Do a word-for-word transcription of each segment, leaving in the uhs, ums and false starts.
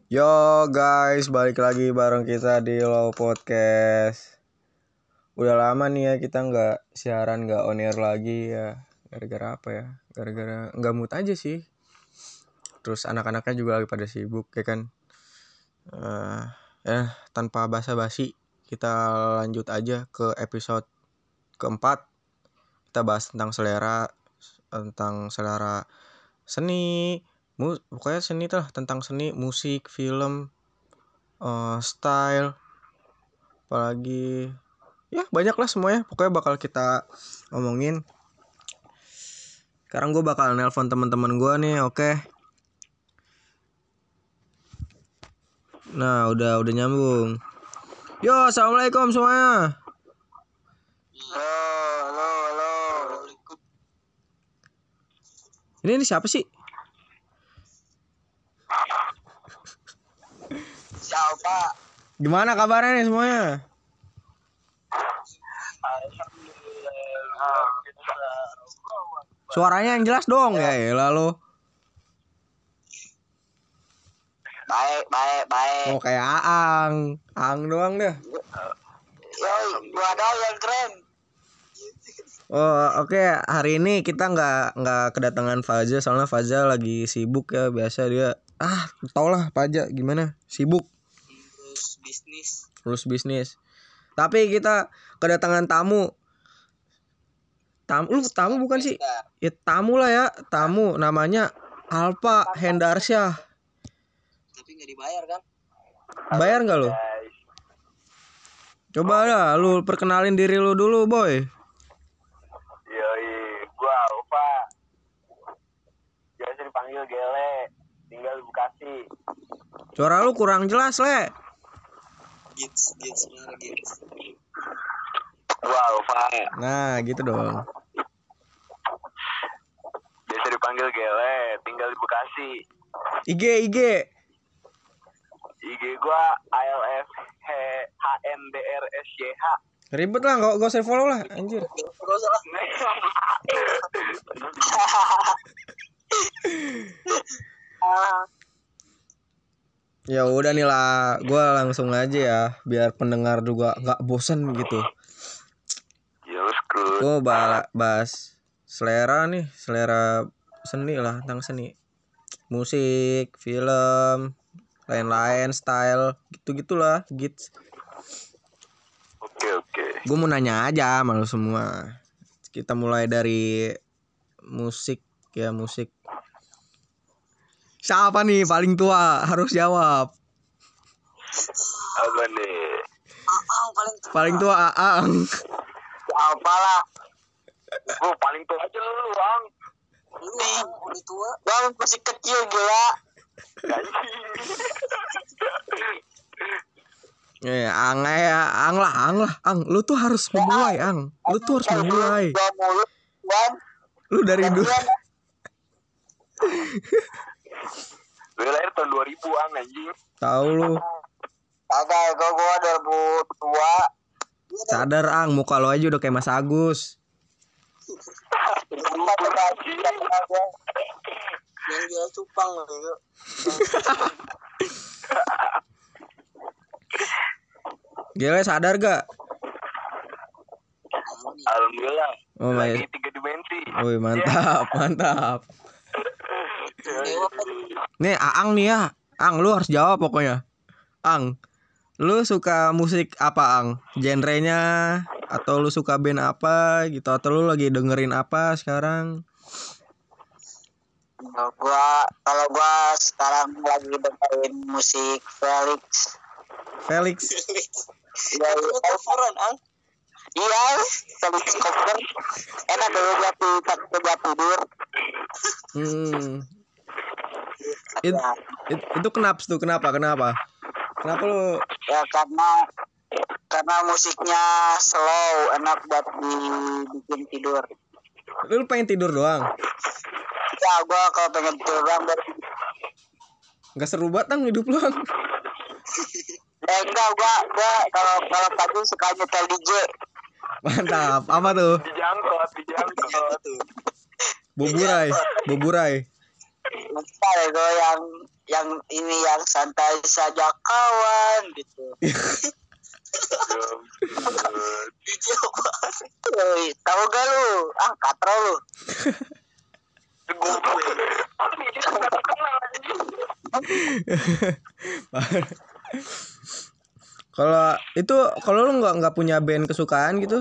Yo guys, balik lagi bareng kita di Low Podcast. Udah lama nih ya kita nggak siaran, nggak on air lagi ya. Gara-gara apa ya? Gara-gara nggak mood aja sih. Terus anak-anaknya juga lagi pada sibuk ya kan. Uh, eh tanpa basa-basi kita lanjut aja ke episode keempat. Kita bahas tentang selera, tentang selera seni, mu- pokoknya seni lah, tentang seni, musik, film, uh, style, apalagi ya banyak lah semuanya, pokoknya bakal kita omongin. Sekarang gue bakal nelpon teman-teman gue nih, oke? Nah udah udah nyambung. Yo, assalamualaikum semuanya. Halo, halo, halo. Ini ini siapa sih? Siapa? Gimana kabarnya nih semuanya? Alhamdulillah. Suaranya yang jelas dong ya, ya lalu. Baik, baik, baik. Oh kayak Aang, Aang doang deh. Yo, gua dong yang keren. Oh oke, okay. Hari ini kita nggak nggak kedatangan Faza soalnya Faza lagi sibuk ya, biasa dia ah tau lah Faza gimana sibuk. Terus bisnis. Terus bisnis. Tapi kita kedatangan tamu. Tamu, lu tamu bukan sih? Ya tamu lah ya, tamu namanya Alpa Hendarsyah. Tapi nggak dibayar kan? Bayar nggak lu? Coba lah, lu perkenalin diri lu dulu, boy. Yoi, gua Alfa. Biasa dipanggil Gele, tinggal di Bekasi. Suara lu kurang jelas, Le. Gits, gits, bener gits. Gua Alfa. Nah, gitu dong. Biasa dipanggil Gele, tinggal di Bekasi. I G, I G. I G gua A L F H N D R S Y H. Ribet lah, gak, gak usah follow lah, anjir. Terus lah. Ya udah nih lah, gue langsung aja ya, biar pendengar juga nggak bosen gitu. Ya skru. Gue bahas selera nih, selera seni lah, tentang seni, musik, film, lain-lain, style, gitu-gitulah, gitu. Oke oke. Gue mau nanya aja sama lu semua. Kita mulai dari musik ya, musik. Siapa nih paling tua? Harus jawab. Apa nih? Aang paling tua. Paling tua Aang. Apa lah? Gua paling tua aja lu, Bang. Lu Aang udah tua. Bang masih kecil gila. Ya, Ang ya, Ang lah, Ang lah, Ang. Lu tuh harus memulai, Ang. Lu tuh harus memulai. Gua mulut, Wan. Lu dari dulu. Gue lahir tahun dua ribu an anjing. Tahu lu. Agak, gua gua dua ribu dua. Sadar, Ang, muka lu aja udah kayak Mas Agus. Yang dia cupang gitu. Gila, sadar gak? Alhamdulillah. Oh my. Lagi tiga dimensi. Wih, mantap, mantap. Nih, Aang nih ya. Ang, lu harus jawab pokoknya. Ang, lu suka musik apa, Ang? Genrenya, atau lu suka band apa gitu, atau lu lagi dengerin apa sekarang? Kalau gua kalau gua sekarang lagi dengerin musik Felix. Felix. Ya, coveran, Ang. Iya, Felix cover. Enak dulu buat buat buat tidur. Hmm. It, it, itu kenapa tuh? Kenapa? Kenapa? Kenapa lu? Ya karena karena musiknya slow, enak buat dibikin tidur. Lu pengen tidur doang? Ya, gua kalau pengen tidur doang baru. Gak seru banget Ang hidup lu, Ang. Ya enggak, gua gua kalau kalau pagi suka nyetel D J. Mantap. Apa tuh? Dijangkot, dijangkot. Boburai, boburai. Lupa ya gua yang yang ini yang santai saja kawan gitu. Woi, tahu gak lu? Ah, katro lu. Kalau itu kalau lu nggak nggak punya band kesukaan gitu?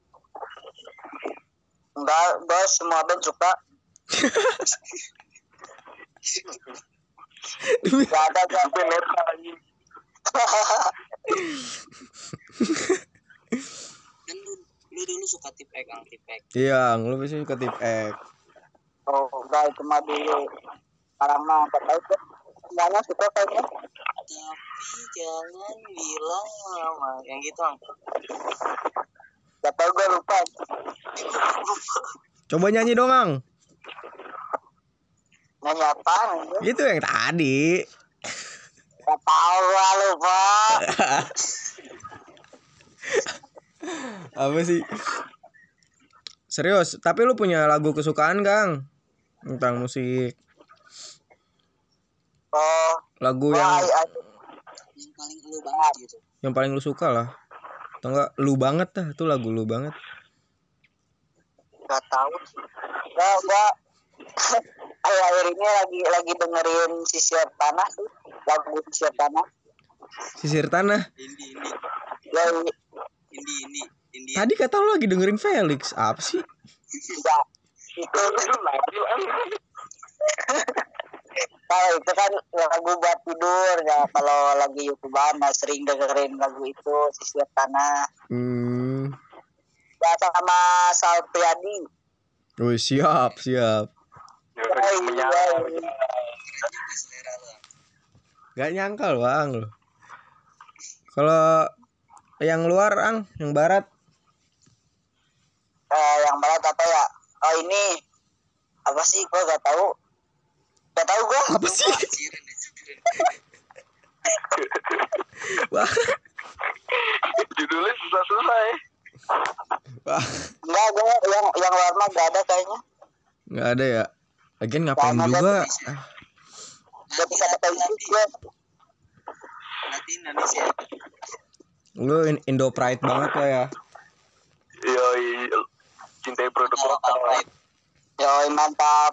Enggak, gue semua band suka. Gak ada gak band metal anjing. Kan lu, lu dulu suka Tipek, Kang Tipek. Iya, lu bisa suka Tipek. Oh, enggak itu mah dulu. Sekarang mah enggak tahu tuh. Semuanya suka kayaknya. Tapi jangan bilang lama, yang gitu, Ang. Gak tau gue lupa. Coba nyanyi dong, Ang. Nyanyi apaan? Itu yang tadi. Gak tau gue lupa. Apa sih? Serius, tapi lu punya lagu kesukaan, Kang? Tentang musik. Oh, Lagu wah, yang ya, yang paling lu banget gitu. yang paling lu suka lah. Atau enggak lu banget dah, itu lagu lu banget. Gak tahu. Gua gua akhir-akhir ini lagi lagi dengerin Sisir Tanah sih. Lagu Sisir Tanah. Sisir Tanah. Indi ini. Ya, ini ini ini. Ini. Tadi kata lu lagi dengerin Felix. Apa sih? Enggak. Itu lagu. Kalau itu kan lagu buat tidur ya. Kalau lagi YouTubean nah sering dengerin lagu itu Sisir Tanah. Hmm. Ya sama Sal Priadi. Oh, siap, siap. Gak nyangka loh, Ang lo. Kalau yang luar, Ang, yang barat. Eh, yang barat apa ya? Oh ini apa sih? Gua gak tahu. Gak tahu gua. Apa sih? Wah. Judulnya susah-susah ya. Wah. Enggak, gua yang yang luar mah gak ada kayaknya. Gak ada ya. Lagian ngapain Gak juga? ada. Gak bisa kata gue. Nanti Indonesia. Lu Indo Pride banget lah ya. Yoi, cintai produk lokal. Yoi, mantap.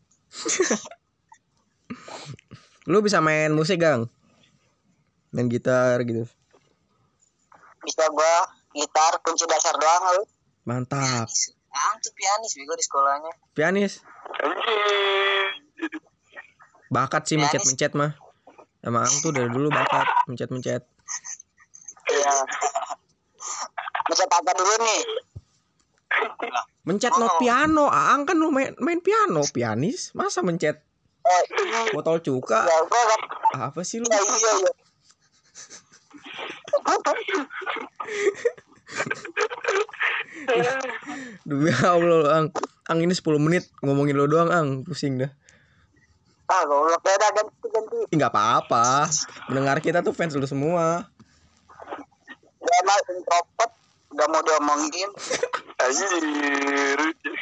Lu bisa main musik, Gang? Main gitar gitu. Bisa gua gitar kunci dasar doang lu. Mantap. Ah, tuh pianis bego di sekolahnya. Pianis. Anjir. Bakat sih mencet-mencet mah. Emang tuh dari dulu bakat mencet-mencet. Iya. Mencet apa dulu nih? Mencet not piano. Aang kan lu main main piano, pianis. Masa mencet Oh, botol cuka? ya gua kan. Apa sih lu? Iya iya iya. Demi Allah, Ang. Ang ini sepuluh menit ngomongin lo doang, Ang. Pusing dah. Ah, goblok beda ganti-ganti. Enggak apa-apa. Mendengar kita tuh fans lu semua. Gua mah introvert, enggak mau diomongin. Anjir.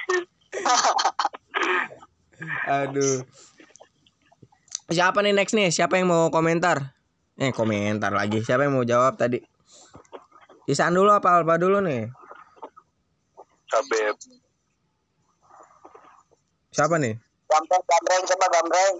Aduh. Siapa nih next nih? Siapa yang mau komentar? Eh, komentar lagi. Siapa yang mau jawab tadi? Isan dulu apa Alpa dulu nih? Sabep. Siapa nih? Gambreng, gambreng, coba gambreng.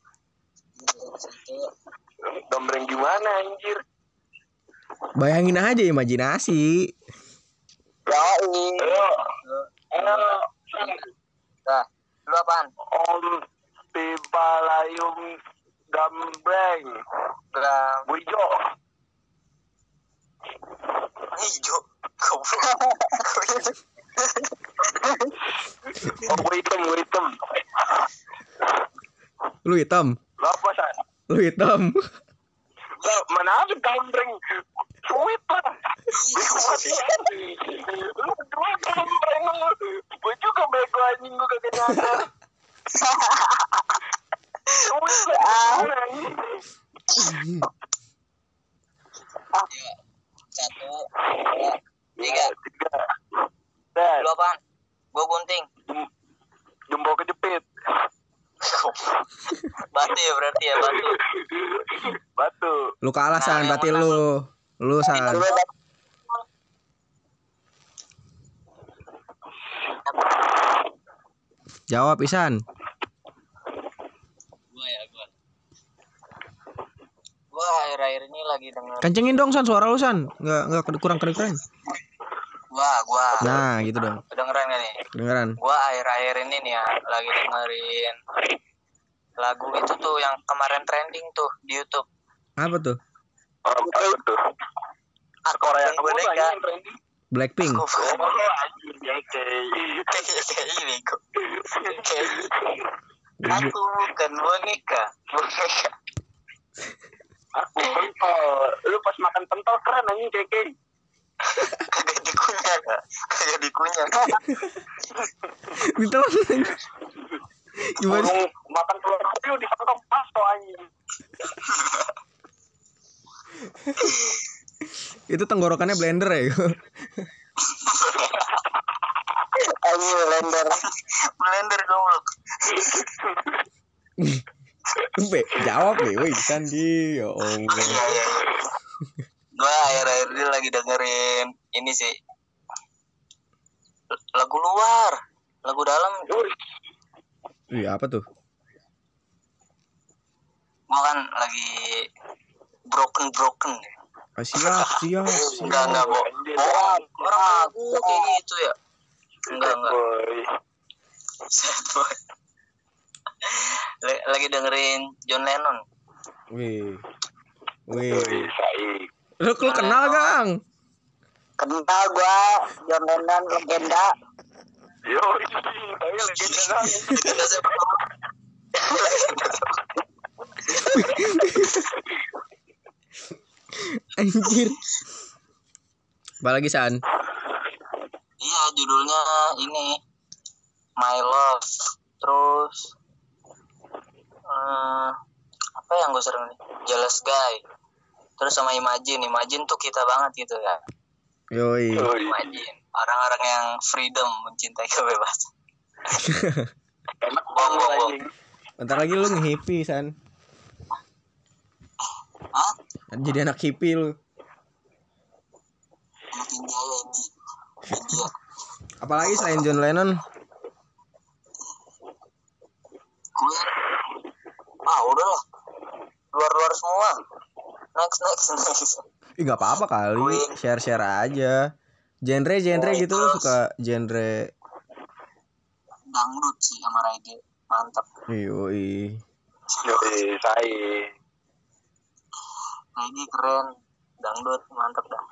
Gambreng gimana anjir? Bayangin aja imajinasi. Yoi. Ayo. Ayo. Nah, lu apaan? Om Pipalayum Gambreng. Gram. Wijo. Hijau. Oh, gue hitam, gue hitam. Lu hitam. Lo apa, San? Lu hitam. Lo mana ada gambreng? Sweet lah. Lu berdua gambreng lu. Gue juga bego anjing, gue kagak nyadar. Sweet lah. Satu, dua, tiga. Tiga. Dan Lu apaan? Gua gunting. jempol kejepit. Batu ya berarti ya batu. Batu. Lu kalah Nah, San, yang berarti menang. lu. Lu San. Gue dapet Jawab Isan. gue ya gue. Gue akhir-akhir ini lagi denger. Kencengin dong San suara lu San. Enggak enggak kurang kedengeran. Gua gua. Nah, gitu dong. Kedengeran gak nih? Kedengeran. Gua akhir-akhir ini nih ya lagi dengerin lagu itu tuh yang kemarin trending tuh di YouTube. Apa tuh? Oh, apa tuh? Aku Korea yang boneka. yang trending. Blackpink. Aku Oh, anjing ya kayak. kayak ini kok. Aku bukan boneka, boneka. Aku pentol. Lu pas makan pentol keren anjing keke. Kagak dikunyah, kagak dikunyah. Gitu. Gimana? Burung makan telur api disangka pasto anjing. Itu tenggorokannya blender ya. Anjing blender. Blender goblok. Be, jawab nih, woi Sandi. Ya Allah. Iya iya. Gua akhir-akhir ini lagi dengerin ini sih. Lagu luar, lagu dalam. Iya, apa tuh? Gua kan lagi broken broken ya. Ah, siap, siap, Enggak siap. enggak bohong. Bohong. Orang lagu kayak gitu ya. Enggak enggak. Boy. Sad boy. L- lagi dengerin John Lennon. Wih. Wih, Wih. saik. Lu, lu kenal, Gang? Kenal gua John Lennon legenda. Yo, tapi legenda kan. Legenda sepak bola. Anjir. Apa lagi, San? Iya, judulnya ini My Love. Terus eh, apa yang gue sering nih? Jealous Guy. Terus sama Imagine. Imagine tuh kita banget gitu ya. Yoi. Imagine. Orang-orang yang freedom, mencintai kebebasan. Enak Bong, bong, bong. anjing. Bentar lagi lu nge-hippie, San. Hah? Jadi anak hippie lu. Anak India ya ini. India. Apalagi selain John Lennon? Gue ah udah lah. Luar-luar semua. Next, next, next. Ih, gak apa-apa kali. Share-share aja. Genre-genre gitu lu suka genre. Dangdut sih sama reggae. Mantap. Yoi. Yoi, saik. Reggae keren. Dangdut mantap dah.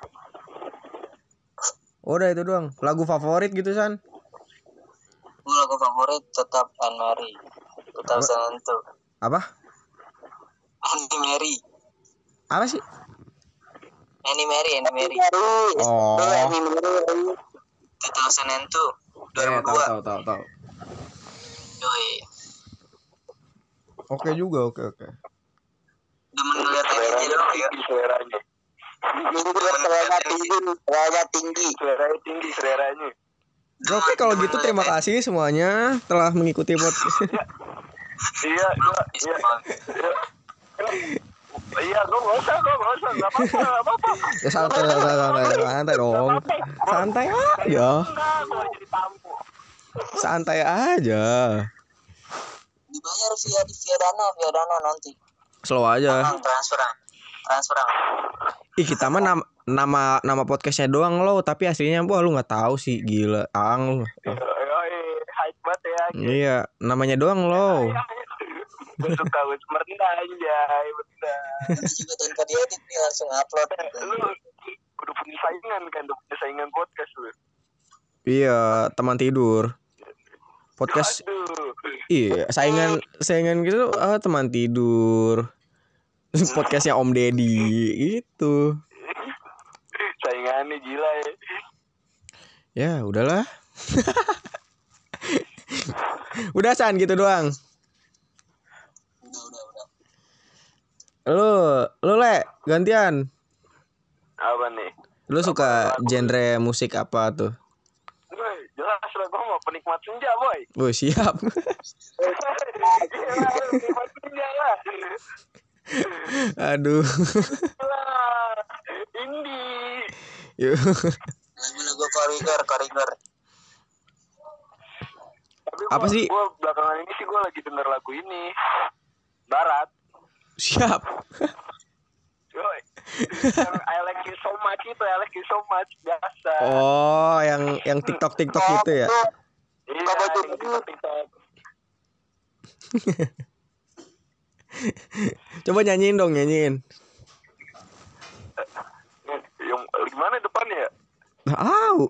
Udah itu doang. Lagu favorit gitu, San? Gue lagu favorit tetap Anne Mary. dua ribu dua. Apa? Annie Mary. Apa sih? Annie Mary, Annie Mary. Oh. dua ribu dua. Eh, tahu dua ribu dua. tahu tahu tahu. Yoi. Oke juga, oke oke. Demen ngeliat ini Seleranya dulu ya. tinggi, seleranya. Seleranya tinggi. Seleranya tinggi. Seleranya tinggi, seleranya. Oke, kalau gitu terima kasih semuanya telah mengikuti podcast. Iya, gua, iya, iya. Iya, gua nggak usah, gua nggak usah, nggak apa-apa, nggak apa-apa. Ya santai, santai, santai, santai dong. Santai aja. Enggak, gua jadi tamu. Santai aja. Dibayar via di via dana, via dana nanti. Slow aja. Transferan. Transferan. Ih, kita mah nama nama, nama podcastnya doang lo, tapi aslinya wah lu nggak tahu sih, gila. Ang lu. Yoi, hype banget ya. Iya, namanya doang lo. Gue suka gue merendah anjay, bener. Nanti juga tanpa diedit nih langsung upload. Lu udah punya saingan kan, udah punya saingan podcast lu. Iya, teman tidur. Podcast. Aduh. Iya, saingan saingan gitu ah, teman tidur. Podcastnya Om Deddy gitu. Saingannya gila ya. Ya, udahlah. Udah San gitu doang. Udah, udah, udah. Lu, lu le gantian. Apa nih? Lu suka genre musik apa tuh? Gue jelas lah, gue mau penikmat senja boy. Oh, siap. Gila lah. Aduh. Lah. Indie. Yuk. Lagu-lagu koridor koridor. Tapi Apa gua, sih? Gua belakangan ini sih gue lagi denger lagu ini. Barat. Siap. Yoi. Yang I like you so much itu, I like you so much biasa. Oh, yang yang TikTok TikTok gitu ya. Iya, Apa tuh? yang TikTok-TikTok. Coba nyanyiin dong, nyanyiin. Yang gimana depannya ya? Tahu.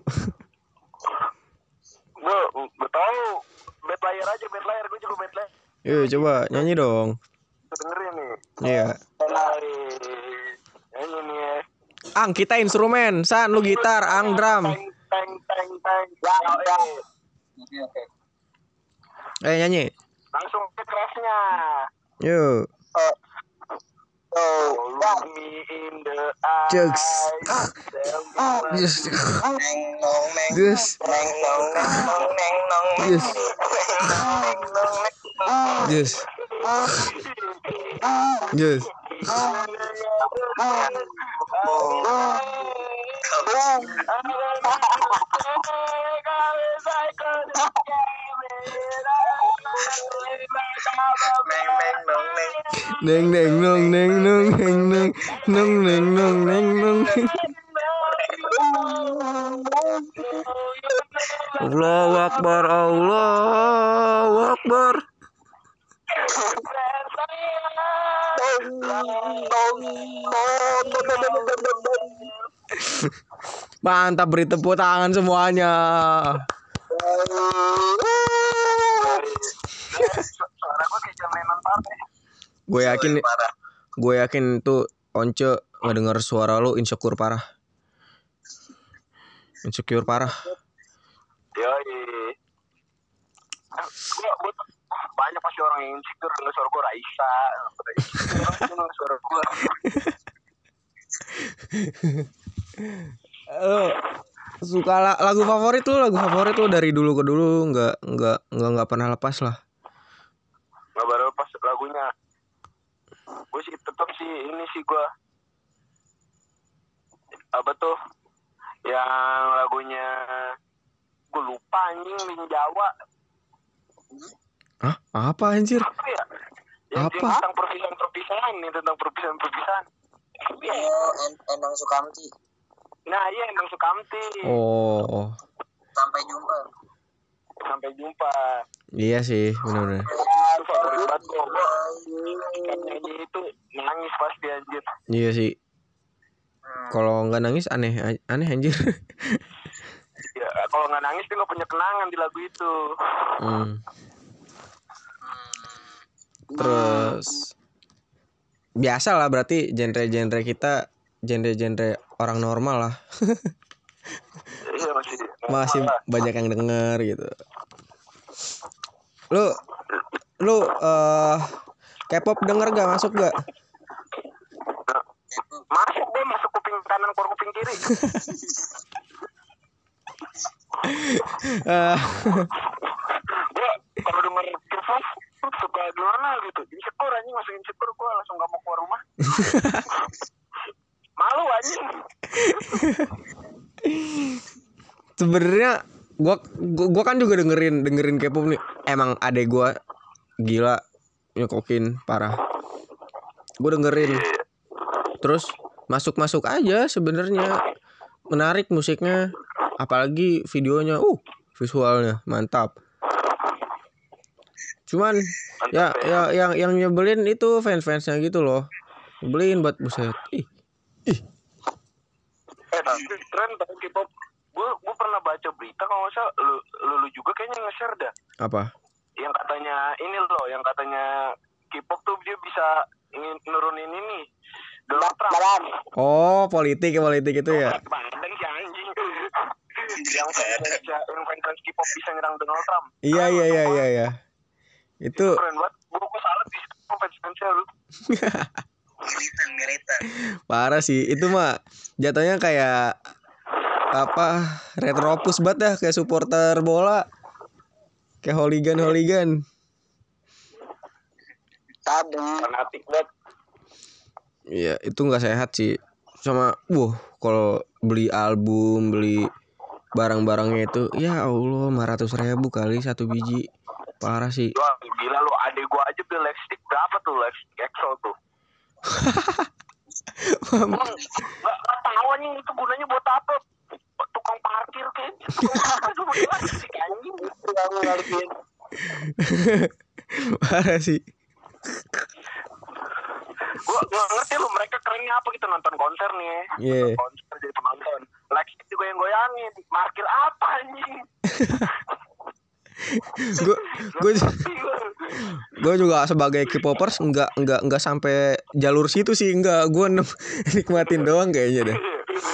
Gue gue tahu bad layer aja, bad layer, gue juga bad layer. Yuk, coba nyanyi dong. Gue dengerin nih. Iya. Hai. Nyanyi nih ya. Ang, kita instrumen. San, lu gitar, Ang drum. Teng teng teng teng. Ya, ya. Oke oke. Eh, nyanyi. Langsung ke kerasnya. Yuk. Oh, Look me in the eyes. Jugs. Tell me what Yes. neng nong neng. Yes. Neng nong neng nong neng nong. Yes. Neng nong neng. Yes. Yes. Neng neng nong neng. Neng neng nong neng nong neng neng nong neng nong neng nong neng. Allahu Akbar, Allahu Akbar. Mantap, beri tepuk tangan semuanya. Suara gue kayak John Lennon parah. Gue yakin, gue yakin tuh Once ngedenger suara lu insecure parah. Insecure parah. Yoi. Gue gue banyak pasti orang yang insecure dengan suara gue. Raisa, dengan suara gue. Lu suka la- lagu favorit lu, lagu favorit lu dari dulu ke dulu nggak nggak nggak nggak pernah lepas lah. Nggak baru pas lagunya. Gue sih tetap sih ini sih gue. Apa tuh? Yang lagunya gue lupa anjing, Min Jawa. Hah? Apa anjir? Apa ya? Yang Apa? tentang perpisahan-perpisahan nih, tentang perpisahan-perpisahan. Oh, En- Endang Sukamti. Nah iya, Endang Sukamti. Oh, Sampai jumpa. Sampai jumpa. iya sih, benar-benar. Itu favorit banget gue. Kan nyanyi itu nangis pasti anjir. Iya sih. Kalau nggak nangis aneh, aneh anjir. Ya, kalau nggak nangis dia nggak punya kenangan di lagu itu. Hmm. Terus biasa lah, berarti genre-genre kita genre-genre orang normal lah. Iya masih. Masih normal lah. banyak yang denger gitu. Lu lu eh K-pop denger gak, masuk gak? Masuk deh, masuk kuping kanan keluar kuping kiri. Eh, Gue kalau denger K-pop suka gimana gitu. Insecure anjing, masuk insecure gue langsung gak mau keluar rumah. Malu anjing. Sebenarnya gua, gua gua kan juga dengerin dengerin K-pop nih. Emang adek gua gila nyokokin parah. Gua dengerin. Terus masuk-masuk aja sebenarnya. Menarik musiknya, apalagi videonya. Uh, visualnya mantap. Cuman ya ya yang yang nyebelin itu fans-fansnya gitu loh. Nyebelin buat buset. Ih. Ih. Eh tapi keren tau K-pop. Gue gue pernah baca berita kalau nggak salah lu, lu lu juga kayaknya nge-share dah. Apa? Yang katanya ini loh, yang katanya K-pop tuh dia bisa ingin nurunin ini Donald Trump. Oh, politik politik itu ya. Badan si anjing. Yang fans yang fans K-pop bisa nyerang Donald Trump. Iya iya iya iya iya. Itu Keren banget. Gue gue salah di situ fans-fansnya lu. Ngeritan, ngeritan. parah sih. Itu mah jatuhnya kayak apa? Retropus banget dah, kayak supporter bola. Kayak hooligan hooligan. Tadi. Fanatik banget. Iya, itu nggak sehat sih. Sama, wuh, kalau beli album, beli barang-barangnya itu, ya Allah, lima ratus ribu kali satu biji. Parah sih. Wah, gila lu, adek gua aja beli lipstick berapa tuh, lipstick E X O tuh. Emang gak, gak tahu anjing itu gunanya buat apa. Tukang parkir kayak tukang parkir tuh buat lipstick anjing. Itu yang ngertiin. Parah sih. Gua gak ngerti lu, mereka kerennya apa gitu, nonton konser nih ya. Iya. Nonton konser jadi penonton. Lipstick juga yang goyangin. Parkir apa anjing? Gue gue gue juga sebagai K-popers nggak nggak nggak sampai jalur situ sih, nggak, gue nikmatin doang kayaknya deh.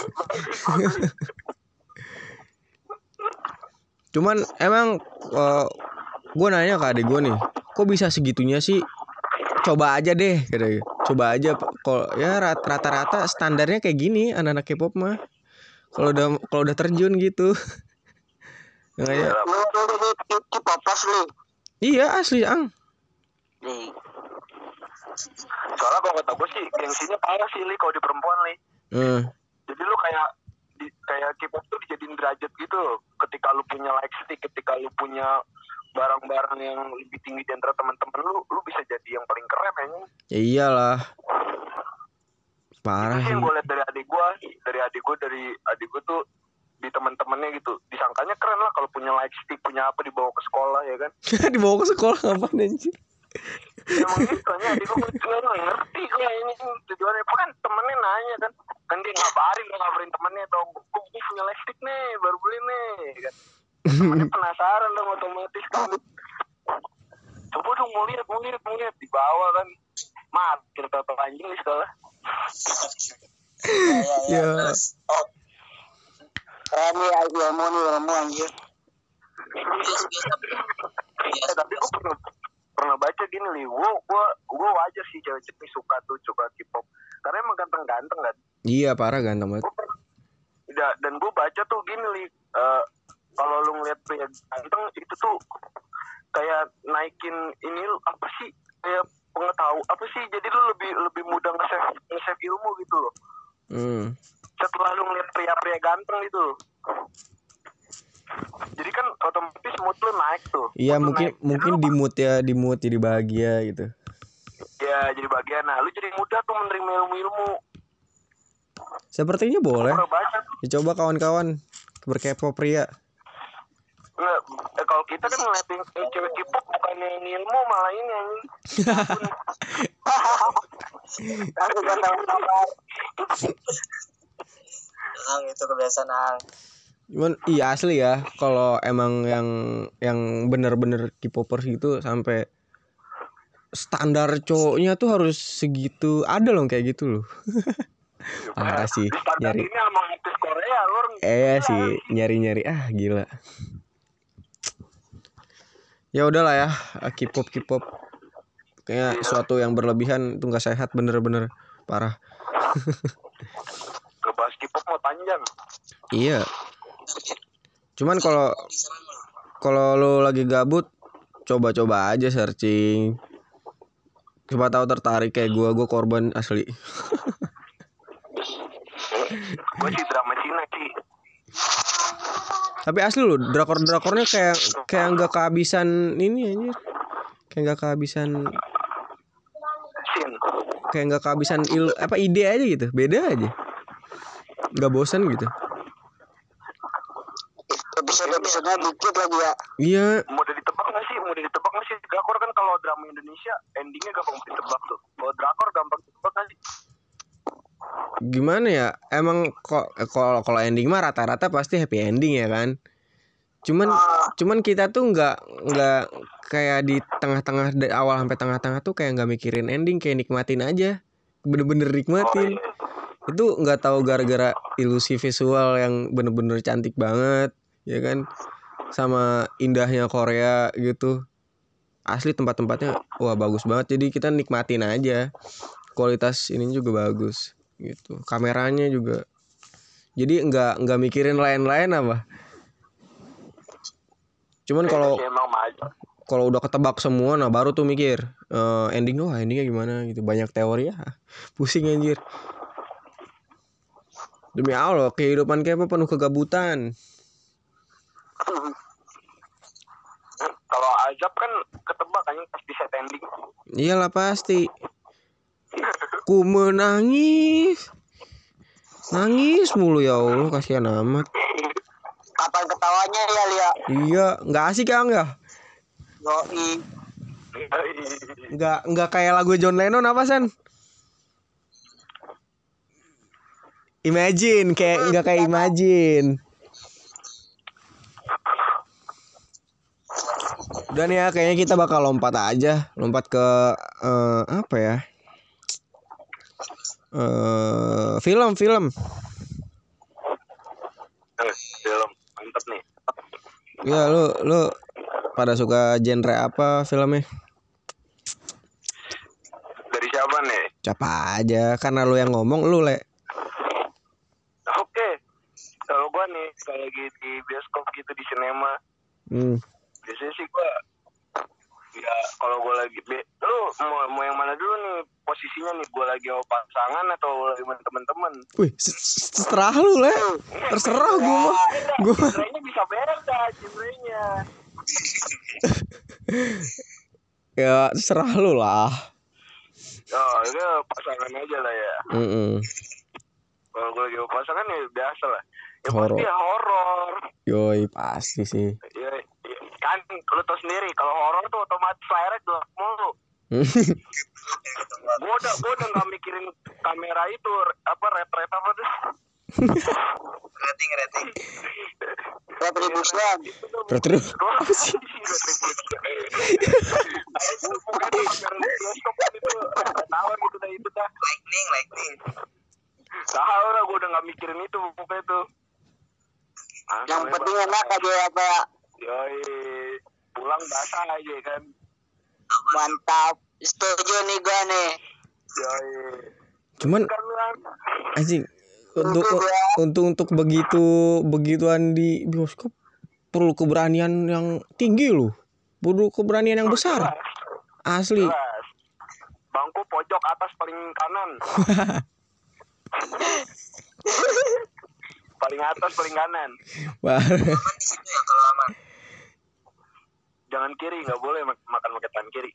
Cuman emang uh, gue nanya ke adik gue nih, kok bisa segitunya sih? Coba aja deh, gitu. Coba aja, kalau ya rata-rata standarnya kayak gini anak-anak K-pop mah. Kalau udah kalau udah terjun gitu. Kayak Lu lu lu K-popers lu. iya asli ang. Nih. Soalnya kalau kata gue sih gengsinya parah sih li kalau di perempuan li. Hmm. Jadi lu kayak di, kayak K-pop tuh dijadiin derajat gitu. Ketika lu punya lightstick, ketika lu punya barang-barang yang lebih tinggi di antara teman-teman lu, lu bisa jadi yang paling keren anjing. Ya iyalah. Parah Itu sih sih. yang gue liat dari adik gue, dari adik gue dari adik gue tuh di teman-temannya gitu, disangkanya keren lah kalau punya lightstick, punya apa dibawa ke sekolah ya kan. Dibawa ke sekolah ngapain anjir? Emang gitu kan, adik gue nggak ngerti kayak ini tujuannya. Kan temennya nanya kan, kan dia ngabarin, dia ngabarin temennya dong, gue punya lightstick nih, baru beli nih kan. Temennya penasaran dong otomatis kan. Coba dong mau lihat, mau lihat, mau lihat, dibawa kan. Mat, kita anjing di sekolah. Ya, ya, Ya. ya. Oh. Keren nih ilmu nih ilmu anjir. Eh, tapi gue pernah pernah baca gini li, gue gue gue wajar sih cewek-cewek suka tuh suka K-pop karena emang ganteng-ganteng kan. Iya parah ganteng banget. Gua pernah, da- dan gue baca tuh gini li, uh, kalau lu ngeliat pria ganteng itu tuh kayak naikin ini lu, apa sih kayak pengetahuan apa sih, jadi lu lebih lebih mudah nge-save nge-save ilmu gitu loh. Hmm. Setelah lu ngeliat pria-pria ganteng itu, jadi kan otomatis mood lu naik tuh. Iya Mood lu mungkin naik. mungkin Jadi di lu- mood ya, di mood jadi bahagia gitu. ya jadi bagian, nah lu jadi mudah tuh menerima ilmu-ilmu. Sepertinya boleh. Pernah baca tuh. Dicoba kawan-kawan berkepo pria. Nggak, eh, kalau kita kan ngeliatin cewek K-pop bukan yang ilmu, malah ini yang Aku gak tahu kabar. Ang itu kebiasaan ang. Cuman iya asli ya, kalau emang yang yang bener-bener K-popers gitu sampai standar cowoknya tuh harus segitu, ada loh kayak gitu loh. Parah sih di standar nyari. ini sama artis Korea lu orang Eh gila. sih nyari-nyari ah gila. Ya udahlah ya, K-pop K-pop kayak suatu yang berlebihan itu nggak sehat, bener-bener parah. Ngebahas K-pop mau panjang. Iya. Cuman kalau kalau lo lagi gabut, coba-coba aja searching. Coba tahu tertarik kayak gua, gua korban asli. Gue sih drama Cina sih. Tapi asli lo, drakor-drakornya kayak kayak nggak kehabisan ini anjir. Kayak nggak kehabisan Sin. kayak nggak kehabisan il apa ide aja gitu. Beda aja. Nggak bosan gitu. Episode-episodenya dikit lagi ya. Iya, Mudah ditebak nggak sih? Mudah ditebak nggak sih? Drakor kan kalau drama Indonesia endingnya gampang ditebak tuh. Kalau drakor gampang ditebak nggak sih? gimana ya? Emang kok eh, kalau kalau ending mah rata-rata pasti happy ending ya kan? Cuman cuman kita tuh nggak nggak kayak di tengah-tengah dari awal sampai tengah-tengah tuh kayak nggak mikirin ending, kayak nikmatin aja, bener-bener nikmatin. Itu nggak tahu gara-gara ilusi visual yang bener-bener cantik banget, ya kan? Sama indahnya Korea gitu. Asli tempat-tempatnya wah bagus banget. Jadi kita nikmatin aja. Kualitas ini juga bagus gitu. Kameranya juga. Jadi nggak nggak mikirin lain-lain apa. Cuman kalau Ya, emang maju. kalau udah ketebak semua, nah baru tuh mikir uh, ending doh, endingnya gimana gitu. Banyak teori ya, pusing anjir. Demi Allah, kehidupan Kepa penuh kegabutan. Kalau azab kan ketebak kan pasti set ending. Iyalah pasti. Ku menangis, nangis mulu ya Allah, kasihan amat. Kapan ketawanya ya Lia? Iya, nggak asik kan ya? Yoi. Nggak nggak kayak lagu John Lennon apa San? Imagine, kayak nggak kayak Imagine. Udah nih ya, kayaknya kita bakal lompat aja, lompat ke uh, apa ya? Uh, film, film. Film mantep nih. Ya lu lu pada suka genre apa filmnya? Dari siapa nih? Siapa aja, karena lu yang ngomong, lu le. Oke, kalau gua nih kayak lagi di bioskop gitu di sinema, Hmm. biasanya sih gua ya kalau gua lagi be, lu mau mau yang mana dulu nih posisinya nih, gua lagi sama pasangan atau lagi sama teman-teman? Wih, terserah lu le. Terserah gua mah. Gua genrenya bisa beda genrenya. ya terserah lu lah. Oh, itu pasangan aja lah ya. Mm-mm. Kalau gue lagi sama pasangan ya biasa lah. Ya Horor. pasti horor. Yoi, pasti sih. Ya, ya, kan lu tau sendiri kalau horor tuh otomatis layarnya gelap mulu. Gue udah gue udah nggak mikirin kamera itu apa red red apa tuh. Rating rating. Retribution. Terus apa sih? Bukan kamera bioskop itu tawar gitu dah itu dah. Lightning lightning. Tahu lah gue udah nggak mikirin itu pokoknya tuh. Yang penting enak aja apa ya. Yoi, pulang basah aja kan. Mantap. Setuju nih gua nih. Yoi. Cuman Kan lah. anjing untuk untuk untuk begitu begituan di bioskop perlu keberanian yang tinggi loh. Perlu keberanian yang besar. Asli. Jelas. Bangku pojok atas paling kanan. Paling atas paling kanan. Wah. Di situ ya kalau aman. Jangan kiri, nggak boleh mak- makan pakai tangan kiri.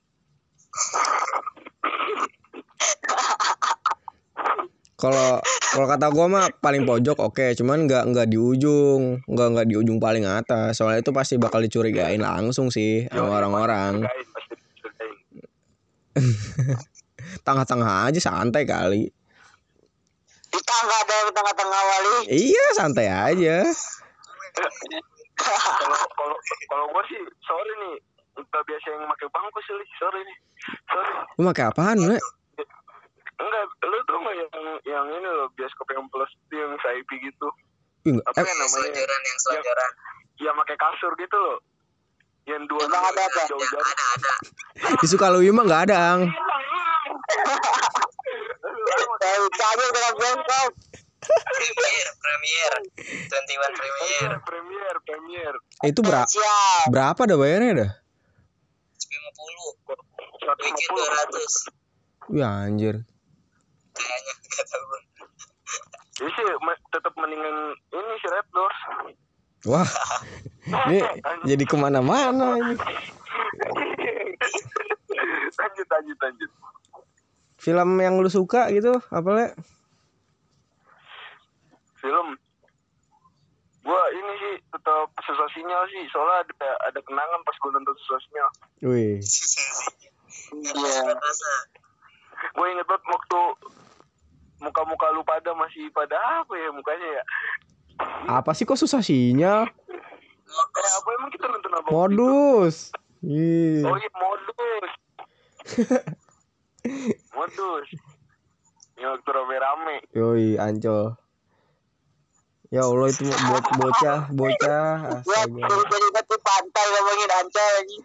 Kalau kalau kata gua mah paling pojok oke, cuman nggak nggak di ujung, nggak nggak di ujung paling atas. Soalnya itu pasti bakal dicurigain langsung sih sama orang-orang. Curigain, pasti curigain. Tengah-tengah aja santai kali. Di tangga ada di tengah-tengah wali. Iya, santai aja. Kalau kalau kalau gue sih sorry nih, nggak biasa yang pakai bangku sih, sorry nih, sorry. Lu pakai apaan, Le? Enggak, lu tuh nggak yang yang ini loh bioskop yang plus yang V I P gitu. Ih, nggak- Apa eh, yang namanya? Selonjoran yang selonjoran. Yang pakai kasur gitu loh. Yang dua Emang ada apa? jauh-jauh. Ada ada. di Sukalui mah nggak ada, Ang. Dari tadi dengan bioskop. Premier, premier. dua puluh satu premier. Premier, premier. Itu berapa? Siap. Berapa dah bayarnya dah? lima puluh. seratus lima Weekend puluh. dua ratus. Wih anjir. Kayaknya enggak tahu. Jadi sih me- tetap mendingan ini si Red Doors. Wah, ini jadi kemana-mana ini. lanjut, lanjut, lanjut. Film yang lu suka gitu, apa Le? Film. Gua ini sih tetap susah sinyal sih, soalnya ada ada kenangan pas gua nonton susah sinyal. Wih. Iya. Gue inget banget waktu muka-muka lu pada masih pada apa ya mukanya ya? Apa sih kok susah sinyal? Eh apa emang kita nonton apa? Modus. Ih. Oh iya modus. Modus. Ini waktu rame-rame. Yoi, Ancol. Ya Allah itu buat bocah, bocah. Gua Astaga. jadi di pantai ngomongin Ancol lagi.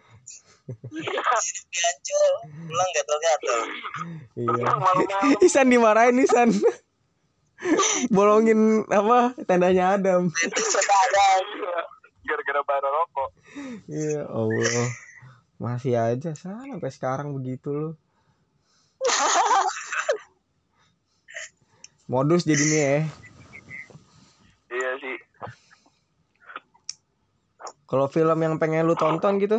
Ancol, pulang gatel-gatel. Iya. Malam-malam. Isan dimarahin Isan. Bolongin apa tendanya Adam. Itu ada. Gara-gara bara rokok. Iya Allah. Masih aja sampai sekarang begitu lu. Modus jadinya ya. Iya sih. Kalau film yang pengen lu tonton gitu?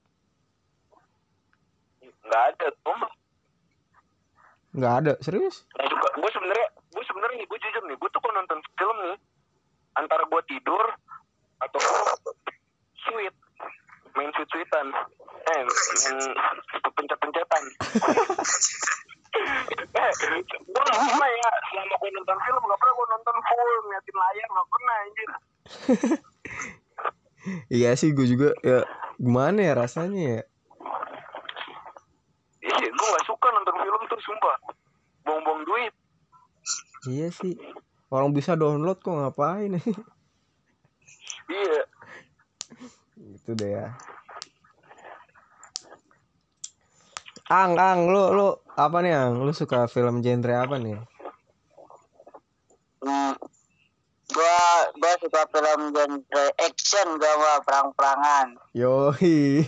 Nggak ada tuh. Nggak ada, serius? Nah, juga gue sebenarnya gue sebenarnya nih gue jujur nih gue tuh kalau nonton film nih antara gue tidur atau sweet main sweet sweetan eh main pencet-pencetan. eh gue nggak pernah ya selama gue nonton film nggak pernah gue nonton full ngeliatin layar nggak pernah anjir. Iya sih gue juga ya, gimana ya rasanya ya? Iya gue nggak suka nonton film tuh sumpah buang-buang duit. Iya sih, orang bisa download kok ngapain? Iya. Gitu deh ya. Ang, Ang, lu, lu apa nih Ang? Lu suka film genre apa nih? Hmm. Gua gua suka film genre action, gua mah perang-perangan. Yoi.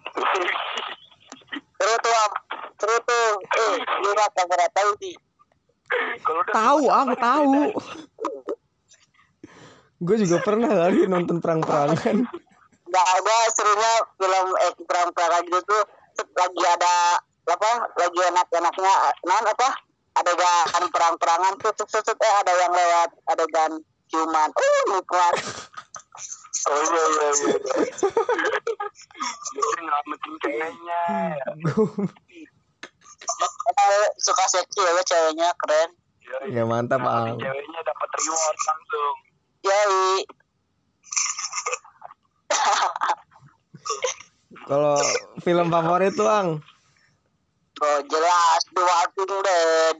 Seru tuh, Am. Seru tuh. Eh, lu nggak pernah tahu sih. Tahu, aku tahu. Gue juga pernah kali nonton perang-perangan. Nggak ada serunya film eh, perang-perangan gitu tuh lagi ada apa? Lagi enak-enaknya non apa? Adegan perang-perangan tuh tuh eh ada yang lewat adegan ciuman. Uh, nikmat. Oh iya iya iya. Jadi nyelamatin ceweknya. Eh, suka seksi ya ceweknya keren. Ya mantap Ang. Ceweknya dapat reward langsung. Yoi. Kalau film favorit tuh Ang? Oh jelas The Walking Dead.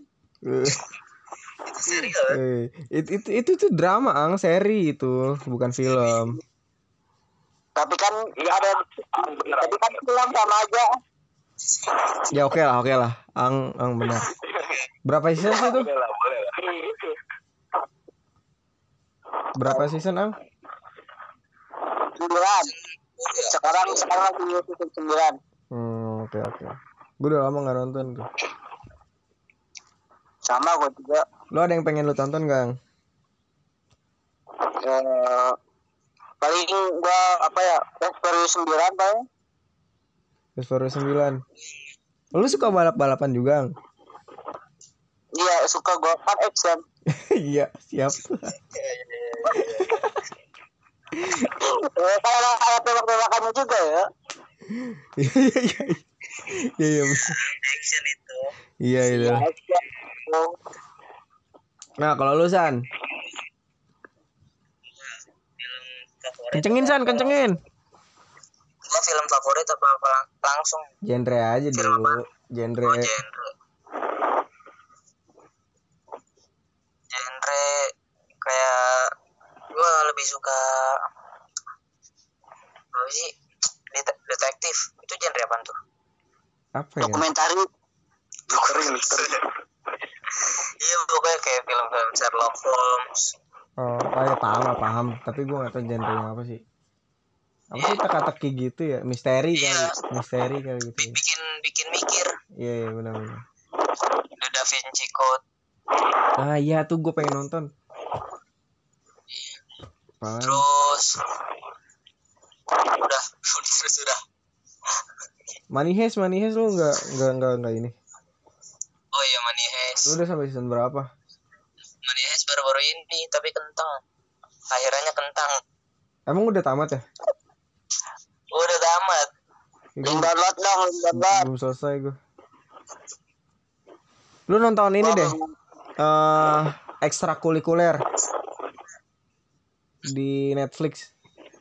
Eh, itu itu itu tuh drama Ang, seri itu, bukan film. Tapi kan ada tapi kan film sama aja. Ya oke lah, oke lah. Ang, Ang benar. Berapa season sih itu? Boleh lah, boleh lah. Berapa season Ang? Sembilan. Sekarang sekarang lagi season sembilan. Hmm, oke oke. Gue udah lama nggak nonton tuh. Sama gue juga. Lo ada yang pengen lo tonton Gang? Eh, paling gue apa ya? Fast Furious sembilan paling. Fast Furious sembilan. Lo suka balap-balapan juga Ang? Iya suka gue kan action. Iya siap. Eh, kalau ada tembak-tembakannya juga ya. Iya iya iya. Iya iya. Action itu. Iya itu. Action. Nah kalau lu San, kencengin San, kencengin. Gue film favorit apa apa langsung? Genre aja dulu. Genre. Oh, genre. Genre kayak gue lebih suka apa sih? Det- detektif. Itu genre apa tuh? Apa ya? Dokumentari. Misteri misteri. Iya pokoknya kayak film-film Sherlock Holmes. Oh, oh ya paham lah paham. Tapi gue nggak tahu genre-nya apa sih. Apa sih teka-teki gitu ya? Misteri kali. Iya. Misteri kali gitu. Bi- bikin bikin mikir. Iya iya benar-benar. The Da Vinci Code. Ah iya tuh gue pengen nonton. Apaan? Terus udah terus udah. Money Heist, Money Heist lu nggak nggak nggak nggak ini. Oh iya Money Heist. Lu udah sampai season berapa? Money Heist baru-baru ini tapi kentang. Akhirannya kentang. Emang udah tamat ya? Udah tamat. Ya, Link gua- download dong, link download. belum selesai gue. Lu nonton ini deh. Eh ekstrakurikuler di Netflix.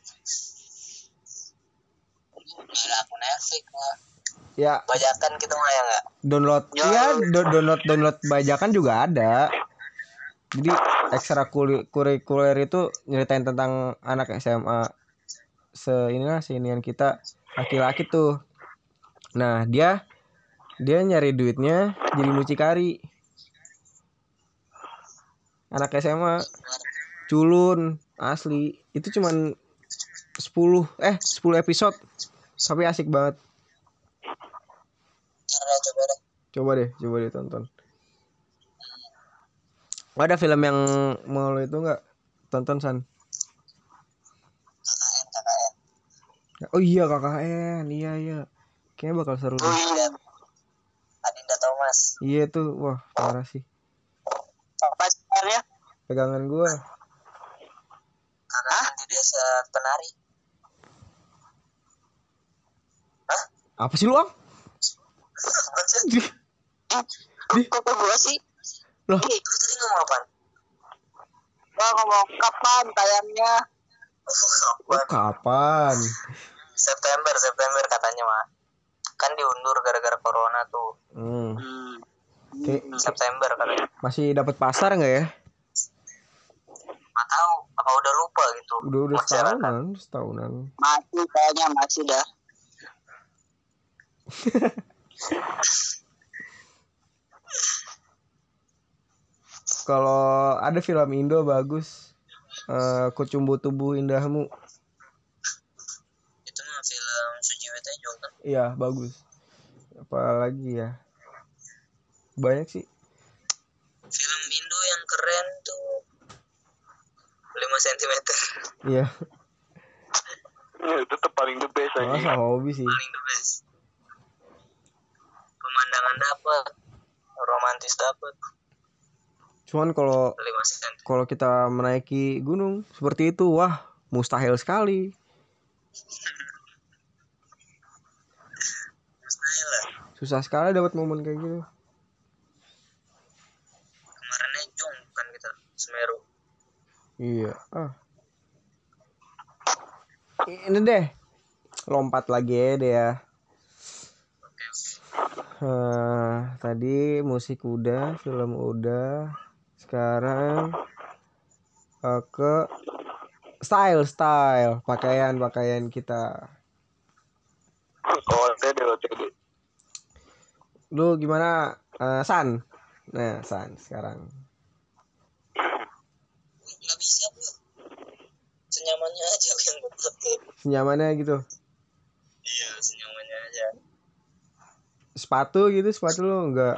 Gak ada akun Netflix lah. Ya Bajakan gitu mah ya nggak? download. Ya. Iya do- download download bajakan juga ada. Jadi ekstrakurikuler itu nyeritain tentang anak S M A se inilah seinian kita laki-laki tuh. Nah dia dia nyari duitnya jadi mucikari. Anak S M A culun asli itu cuman sepuluh eh sepuluh episode tapi asik banget. Coba deh, coba deh tonton. Ada film yang mau lo itu nggak tonton San? K K N K K N Oh iya K K N, iya iya. Kayaknya bakal seru deh. Iya, Adinda Thomas. Iya tuh, wah parah sih. Apa sebenarnya? Pegangan gua. Karena di desa penari. Hah? Apa sih lu, Ang? Di, Di, kok ke gua sih? Loh. Ih, lu tadi ngomong apa? Gua ngomong kapan tayangnya? Oh, oh, kapan? September, September katanya mah. Kan diundur gara-gara corona tuh. Hmm. Hmm. Kayak September katanya. masih dapat pasar nggak ya? Nggak tahu, apa udah lupa gitu. Udah udah Masyarakat. setahunan, setahunan. Masih kayaknya masih dah. Kalau ada film Indo bagus, uh, Kucumbu Tubuh Indahmu. Itu mah film Sujiwo Tejo kan? Iya bagus. Apalagi ya? Banyak sih. Film Indo yang keren tuh lima sentimeter. Iya. Ya, itu tuh paling the best aja. Masa hobi sih. Paling the best. Pemandangan dapat, romantis dapat. Cuman kalau lima sentimeter. kalau kita menaiki gunung seperti itu, wah mustahil sekali. Mustahil lah. Susah sekali dapat momen kayak gitu. Kemarinnya Jong kan kita Semeru. Iya. Ah. Ini deh. Lompat lagi ya deh ya. Oke, oke. Uh, tadi musik udah, film udah. Sekarang uh, ke style style pakaian pakaian kita. O T D, O T D. Lu gimana, uh, San? Nah, San sekarang. Nggak bisa bu. Senyamannya aja yang gue pakai. Senyamannya gitu. Iya, senyamannya aja. Sepatu gitu, sepatu lu enggak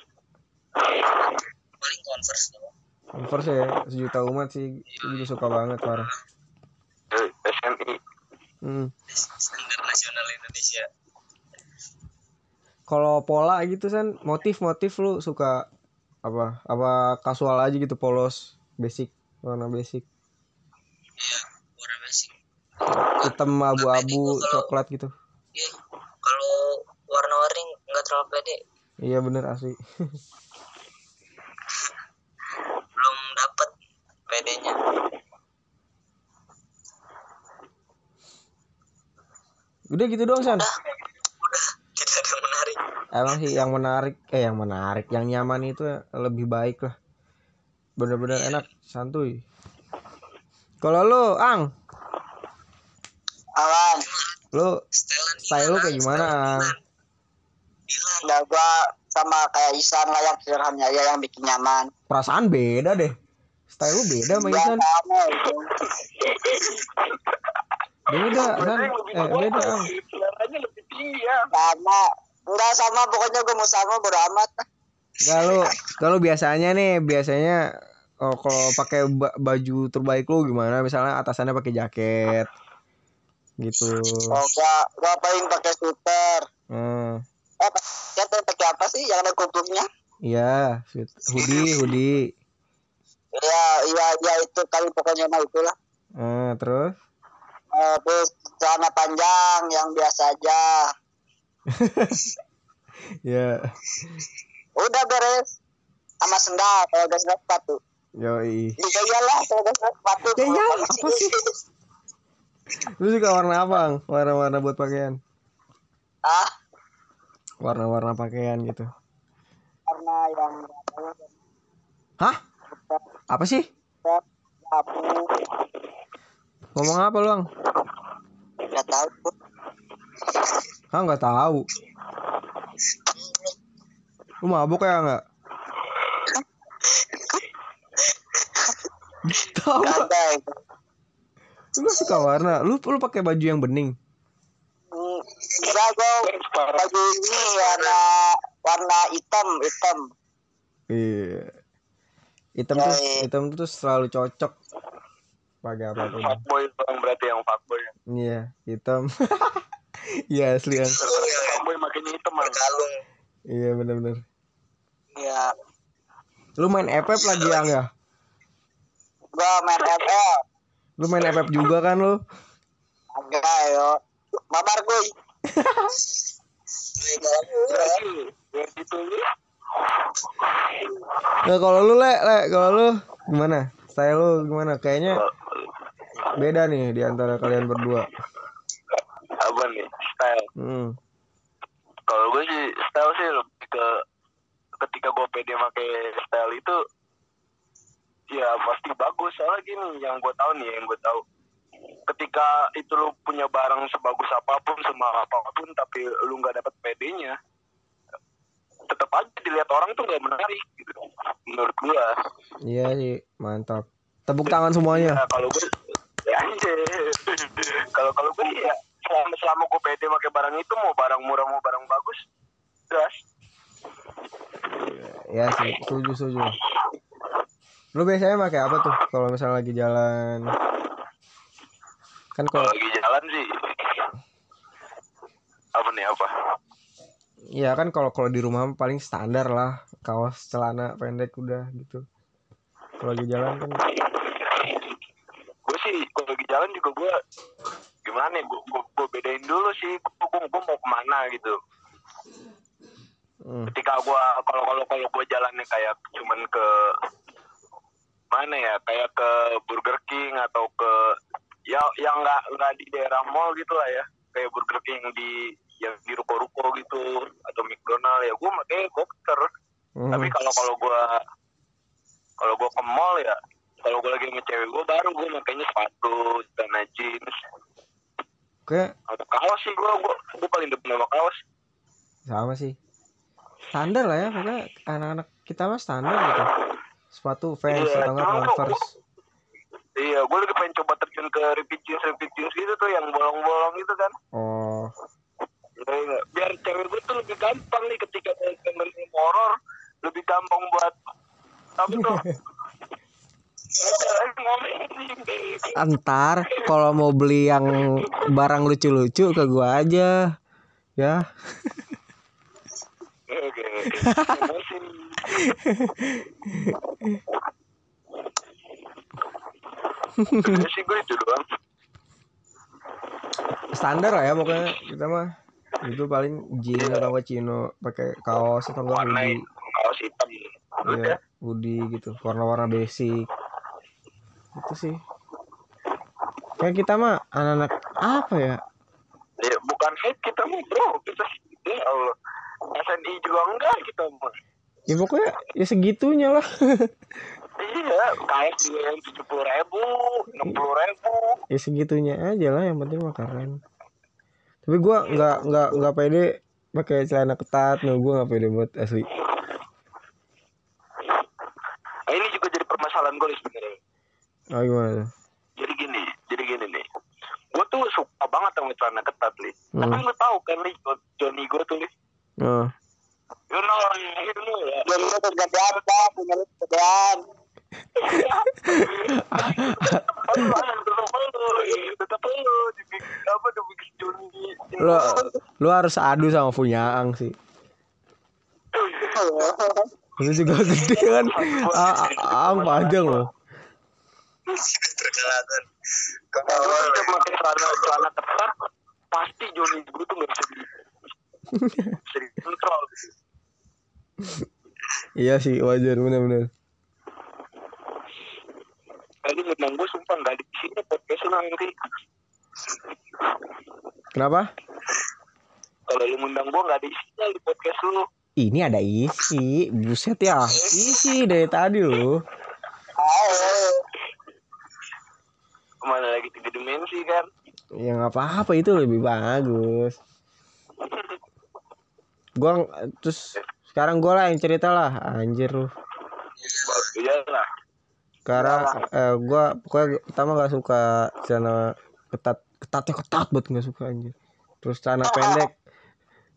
Paling Converse tuh. Converse ya, sejuta umat sih. Gue juga suka banget parah. S M I. Hmm. Standar nasional Indonesia. Kalau pola gitu San, motif-motif lu suka apa? Apa kasual aja gitu, polos, basic, warna basic. Iya, warna basic. Hitam, abu-abu, coklat gitu. Iya, kalau warna-warni nggak terlalu pede. Iya bener asli. Belum dapet pedenya. Udah gitu doang San. Udah, udah tidak ada yang menarik. Emang sih yang menarik, eh yang menarik, yang nyaman itu lebih baik lah. Bener-bener Iya. enak, santuy. Kalau lu, Ang, Awan. lu Setelan style lu kayak gimana, Ang? Dilan. Nah, gua sama kayak Isan lah yang sederhana aja yang bikin nyaman. Perasaan beda deh. Style lu beda sama Ya, Isan. sama itu. Beda, San. Eh, beda, Ang. Seleranya lebih tinggi ya. Sama. Enggak sama, pokoknya gua mau sama bodo amat. Kalau kalau biasanya nih, biasanya oh, kalau pakai ba- baju terbaik lu gimana? Misalnya atasannya pakai jaket. Gitu. Oh, gua gua paling pakai sweater. Hmm. Eh, kita pakai apa sih yang ada kupluknya? Iya, sweet- hoodie, hoodie. Iya, iya, iya itu kali pokoknya mah itulah. Eh, terus Eh, terus celana panjang yang biasa aja. ya, Udah beres. Sama sendal, kalau gak sendal sepatu. yoi. Ya iyalah, kalau gak sendal sepatu. Ya iyalah, apa sih? Lu suka warna apa, Ang? Warna-warna buat pakaian? Ah, Warna-warna pakaian gitu. karena yang Hah? Apa sih? abu, Ngomong apa lu, Ang? nggak tahu. Hah, nggak tahu. Lu mabuk ya nggak? Tahu. Nggak ada itu. Lu gak suka warna. Lu lu pakai baju yang bening. Hmm, Enggak, gue baju ini warna warna hitam hitam. Iya. Hitam Ya, tuh iya. hitam tuh selalu cocok pakai apapun. Fuckboy bang berarti yang fuckboy. Iya, hitam. Iya asli kan. Fuckboy makanya hitam bang. Kalung. Iya benar-benar. Iya. Lu main F F lagi ya enggak? Gua main F F. Lu main F F juga kan lu? Enggak yo. Mabar gue. Biar gitu lu. Nah, kalau lu le, le, kalau lu gimana? Style lu gimana? Kayaknya beda nih di antara kalian berdua. Apa nih style? Hmm. Kalau gue sih style sih lebih ke ketika gue pede pakai style itu ya pasti bagus. Soalnya gini yang gue tahu nih yang gue tahu ketika itu lu punya barang sebagus apapun semahal apapun tapi lu nggak dapat pedenya tetap aja dilihat orang tuh nggak menarik gitu menurut gue. Iya sih, mantap. Tepuk tangan semuanya. Ya, kalau gue ya anjir. Kalau kalau gue ya selama selama gue pede pakai barang itu mau barang murah mau barang bagus gas. Ya sih, setuju setuju. Lu biasanya pakai apa tuh kalau misalnya lagi jalan? Kan Kalau kalau lagi jalan sih apa nih apa? ya kan kalau kalau di rumah paling standar lah, kaos celana pendek udah gitu. Kalau lagi jalan kan Gue sih kalau lagi jalan juga gue gimana ya, gue, gue, gue bedain dulu sih gue, gue, gue mau kemana gitu. hmm. Ketika gue kalau kalau kalau gue jalannya kayak cuman ke mana ya, kayak ke Burger King atau ke ya yang nggak nggak di daerah mall gitu lah ya, kayak Burger King di yang di ruko-ruko gitu atau McDonald ya gue makanya boxer. Hmm. Tapi kalau kalau gue kalau gue ke mall ya, kalau gue lagi sama cewek gue baru gue makanya sepatu, celana jeans, Kayak atau kaos sih gue gue gue paling depan sama kaos. sama sih. Standar lah ya, pokoknya anak-anak kita mah standar gitu. Sepatu Vans Iya, atau enggak cuma Converse. Iya, gue lagi pengen coba terjun ke repeat jeans, repeat jeans gitu tuh yang bolong-bolong gitu kan. Oh, Ya, biar cewek gue tuh lebih gampang nih ketika mau film horor, lebih gampang buat apa tuh? antar kalau mau beli yang barang lucu-lucu ke gua aja. Ya. Oke. Emosi. Sih gue itu doang. Standar lah ya pokoknya kita mah. Itu paling jeans atau enggak chino, pakai kaos atau enggak Warna hoodie. kaos hitam. Iya, hoodie gitu, warna-warna basic. Itu sih. Kayak kita mah anak-anak apa ya? Ya bukan hate kita mah bro, kita ya Allah. S N I juga enggak kita mah. Ya pokoknya ya segitunya lah. Iya, kaos juga yang tujuh puluh ribu, enam puluh ribu. Ya segitunya aja lah, yang penting mah keren. Tapi gua nggak nggak nggak pede pakai celana ketat, no gua nggak pede buat asli. Nah, ini juga jadi permasalahan gue sebenarnya. Oh gimana? Jadi gini, jadi gini nih. Gue tuh suka banget sama celana ketat nih. Hmm. Tapi lu tahu kan nih, Johnny gue tuh nih. Oh. You know, you know ya. Jadi lu kegedean dah, punya lu kegedean. Tetap lu, tetap lu, dibikin apa, dibikin Johnny. Lu lu harus adu sama Funyaang sih. Lu juga gede kan? Ah, ah, panjang loh. Terkalahkan. Kalau udah pakai celana celana ketat, pasti Johnny gue tuh nggak bisa di bisa dikontrol. Iya sih, wajar benar-benar. Tadi ngundang gue sumpah nggak di sini podcast lu nanti. Kenapa? Kalau lu ngundang gue nggak di sini di podcast lu. Ini ada isi, buset ya. Isi dari tadi loh. Kemana lagi tiga dimensi kan? Ya nggak apa-apa, itu lebih bagus. Gua terus sekarang gua lah yang cerita lah, anjir lu. Iya lah. Karena eh, gua pokoknya pertama nggak suka celana ketat, ketatnya ketat banget nggak suka anjir. Terus celana pendek,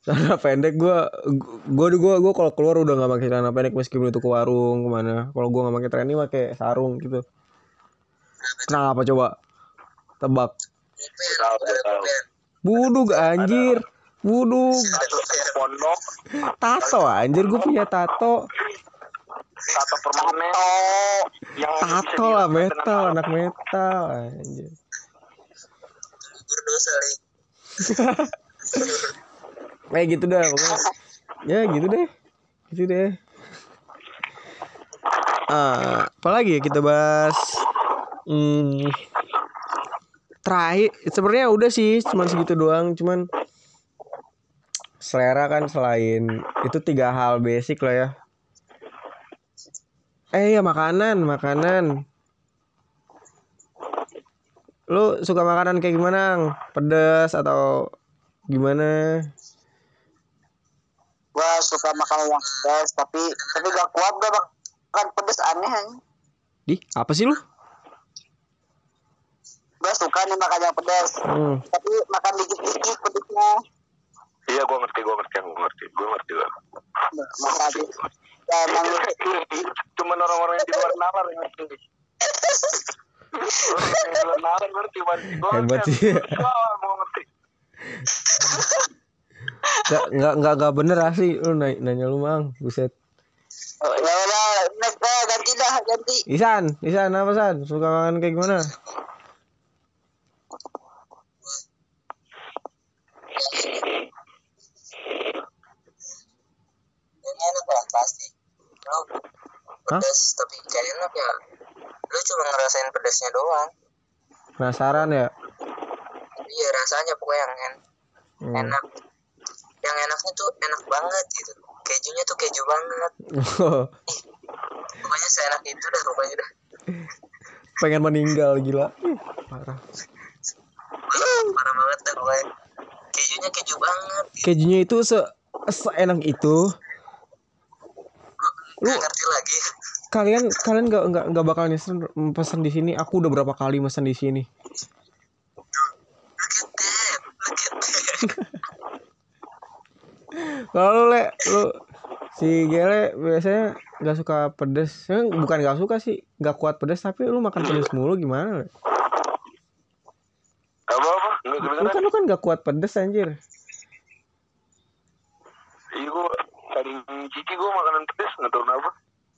Celana pendek gue gue gue gue kalau keluar udah nggak pakai celana pendek meskipun itu ke warung kemana. Kalau gue nggak pakai trendy pakai sarung gitu. Kenapa coba? Tebak. Tahu tahu. Budug anjir. Budug. Pondok, Tato anjir gue punya tato. tato permanen. Yang Tato lah metal, anak metal anjir. Berdosa nih. Kayak gitu dah pokoknya. Ya gitu deh. Gitu deh. Ah, apalagi ya kita bahas. Hmm, terakhir sebenarnya udah sih cuman segitu doang, cuman selera kan selain itu tiga hal basic lah ya. Eh ya makanan, makanan. Lu suka makanan kayak gimana? Ang? Pedas atau gimana? Gua suka makan yang pedas, tapi tapi gak kuat gua makan pedas aneh aja. Di, apa sih lu? Gua suka nih makan yang pedas, Hmm. tapi makan dikit-dikit pedasnya. Iya, gue ngerti, gue ngerti, gue ngerti, gue ngerti lah. Makan ya emang Cuman orang-orang yang di luar nalar yang ngerti. Orang yang di luar nalar ngerti, gue Hebat sih. mau ngerti. Gak, gak, gak, gak bener asli lu nanya, nanya lu mang, buset. oh, ya udah next dah, ganti dah ganti. Isan, Isan apa San? Suka makan kayak gimana? Ini enak lah pasti. Lu pedas tapi gak enak ya. Lu cuma ngerasain pedasnya doang. Penasaran ya? Iya rasanya pokoknya yang en- Hmm. enak. Yang enaknya tuh enak banget gitu. Kejunya tuh keju banget. Pokoknya seenak itu dah pokoknya dah. Pengen meninggal gila. Ih, parah. Parah banget dah pokoknya. Kejunya keju banget. Gitu. Kejunya itu se seenak itu. Lu Gak ngerti lagi. kalian kalian nggak nggak nggak bakal nyesel pesan di sini. Aku udah berapa kali pesan di sini. Look at that. Look at that. Kalau lu le, lu si Gele biasanya nggak suka pedes. Eh, bukan nggak suka sih, nggak kuat pedes tapi lu makan pedes mulu gimana? Le? Apa-apa? Nggak Lu kedengeran. kan lu kan nggak kuat pedes anjir. Iya, gue paling cici gue makanan pedes, nggak tahu kenapa.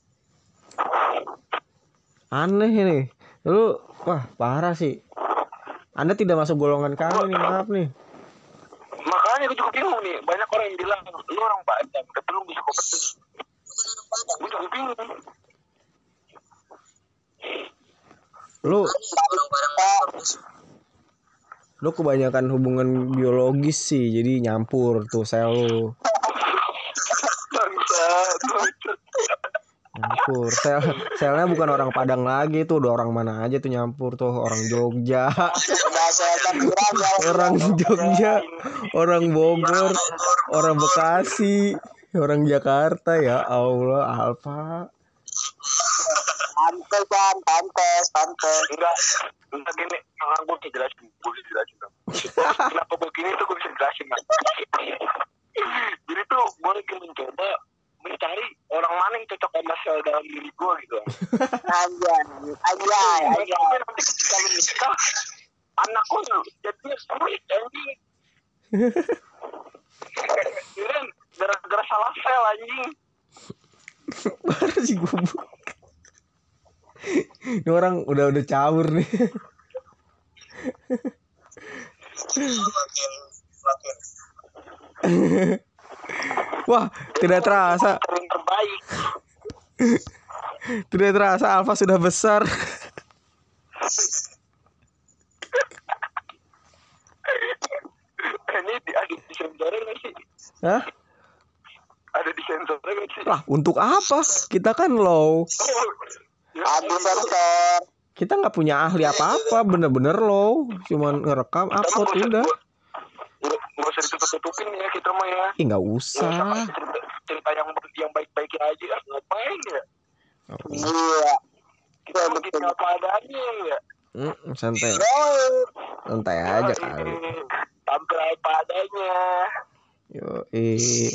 Aneh ini. Lu wah parah sih. Anda tidak masuk golongan kami nih, maaf nih. Makanya gue juga bingung nih, banyak orang yang bilang lu orang Padang, tapi lu bisa kok pedes. Gue juga bingung. Lu Orang barang bagus. lu kebanyakan hubungan biologis sih, jadi nyampur tuh sel lu. Bangsa, Nyampur. Sel selnya bukan orang Padang lagi tuh, udah orang mana aja tuh nyampur tuh, orang Jogja, Bahasa campuran ya. orang Jogja, orang Bogor, orang Bekasi, orang Jakarta ya Allah, Alfa. Pantes kan, pantes, pantes. enggak, enggak gini, enggak gue bisa jelasin, gue bisa jelasin. Kenapa begini tuh gue bisa jelasin, Mas. Jadi tuh gue lagi mencoba mencari orang mana yang cocok sama sel dalam diri gue gitu. Anjay, anjay, anjay. Tapi nanti ketika lu nikah, anak gue jadinya sulit anjing. Kirain gara-gara salah sel anjing. Parah sih gubuk. Ini orang udah udah caur nih. Makin, makin. Wah, tidak terasa, Sering terbaik. tidak terasa Alfa sudah besar. Ini di, ada di sensornya nggak sih? Hah? Ada di sensornya nggak sih? Lah, untuk apa? Kita kan low. Ya, Aduh sensor. Kita nggak punya ahli apa-apa, bener-bener low. Cuman ngerekam, upload udah. Nggak nggak usah ditutup-tutupin ya kita mah ya. Ih, nggak Nggak usah usah. kasih cerita, cerita yang yang baik-baik aja. Ah, ngapain ya? Iya. Kita Betul, bikin betul. apa adanya ya. Hmm, santai, Oh, santai aja kali. Tampil apa adanya. Yo, eh.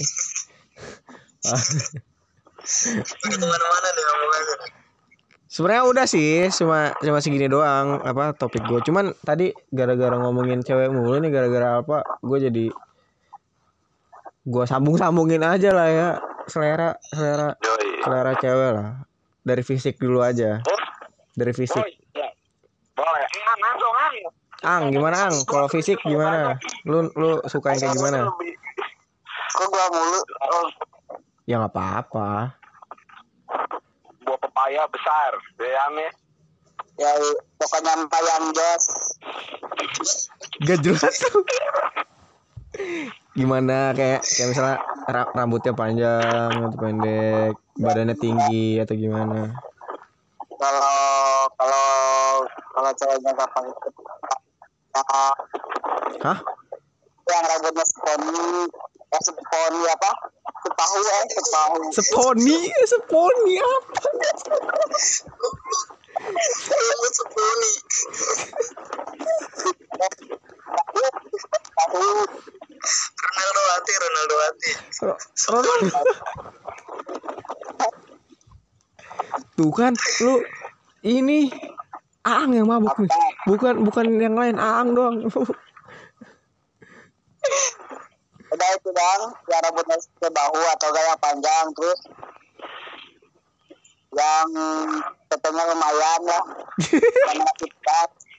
Udah kemana-mana nih ngomongannya. Sebenarnya udah sih, cuma cuma segini doang apa topik gue. Cuman tadi gara-gara ngomongin cewek mulu nih, gara-gara apa? Gue jadi gue sambung-sambungin aja lah ya, selera selera Yoi. selera cewek lah. Dari fisik dulu aja. Oh, Dari fisik. oh, iya. Boleh. Ang, langsung ang. Ang, gimana Ang? Kalau fisik gimana? Lu lu suka yang kayak gimana? Lebih- Kok gua mulu? Oh, Ya nggak apa-apa. buah pepaya besar, bayangnya. Ya pokoknya yang jos. Gak jelas tuh. Gimana kayak kayak misalnya ra- rambutnya panjang atau pendek, badannya tinggi atau gimana? Kalau kalau kalau ceweknya nggak pakai uh, Hah? yang rambutnya seponi, eh seponi apa? Sepahu eh sepahu. Seponi, seponi apa? Rambut seponi. Sepahu. Ronaldo hati, Ronaldo hati. Ro- Ronaldo. Tuh kan lu ini Aang yang mabuk nih. Bukan bukan yang lain, Aang doang. Udah itu bang, yang rambutnya sebahu atau gaya panjang terus yang tetenya lumayan lah, yang kita.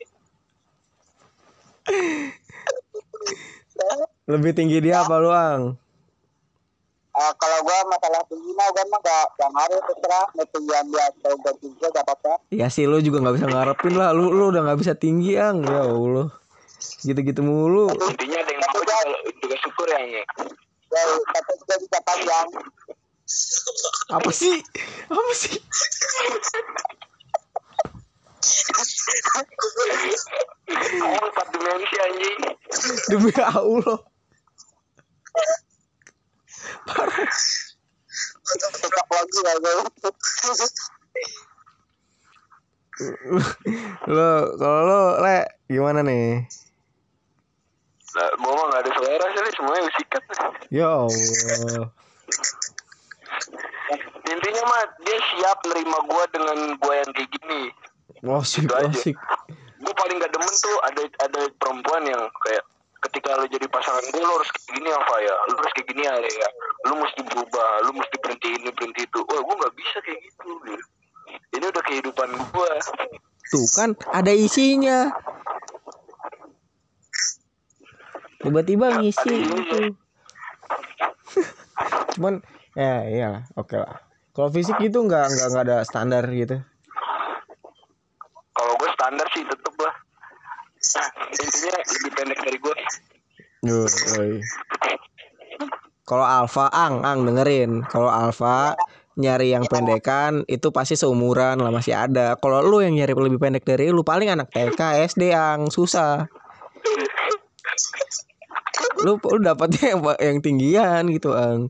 Lebih tinggi dia apa lu, Ang? Uh, kalau gua masalah tinggi mah gua mah gak yang harus terserah mau tinggian dia atau gak tinggi gak apa-apa. Ya sih lu juga nggak bisa ngarepin lah, lu lu udah nggak bisa tinggi, Ang. Ya Allah. Gitu-gitu mulu. Intinya ada yang mau juga, juga syukur ya ini. Ya tapi juga bisa panjang. Apa sih? Apa sih? Oh, empat dimensi anjing. Demi Allah. Parah. Tetap lagi ya gua. Lo kalau lo le gimana nih? Nah, gua mah gak ada selera sih, semuanya sikat. Ya Allah. Intinya mah dia siap nerima gua dengan gua yang kayak gini. Wasik, Gitu aja. wasik. Gue paling gak demen tuh ada ada perempuan yang kayak ketika lo jadi pasangan gue lo harus kayak gini apa ya, lo harus kayak gini ya, lo mesti berubah, lo mesti berhenti ini berhenti itu. Wah gue nggak bisa kayak gitu. Gitu. Ini udah kehidupan gue. Tuh kan ada isinya. Tiba-tiba ngisi Ada isinya. gitu. Cuman ya iyalah, oke lah. Kalau fisik gitu nggak nggak nggak ada standar gitu. Kalau gue standar sih tetep lah. Intinya lebih pendek dari gue. Yoi. Kalau alfa, ang, ang dengerin. Kalau alfa nyari yang pendekan itu pasti seumuran lah, masih ada. Kalau lu yang nyari lebih pendek dari lu paling anak T K, S D, ang susah. Lu lu dapatnya yang, yang tinggian gitu, ang.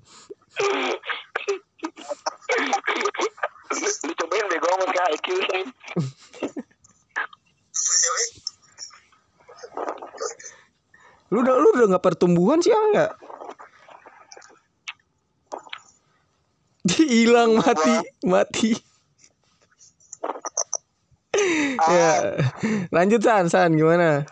Lu cobain bego amat ke I Q sih. Lu udah lu udah nggak pertumbuhan sih, ang nggak? Hilang mati mati. Ya, lanjut San, San gimana?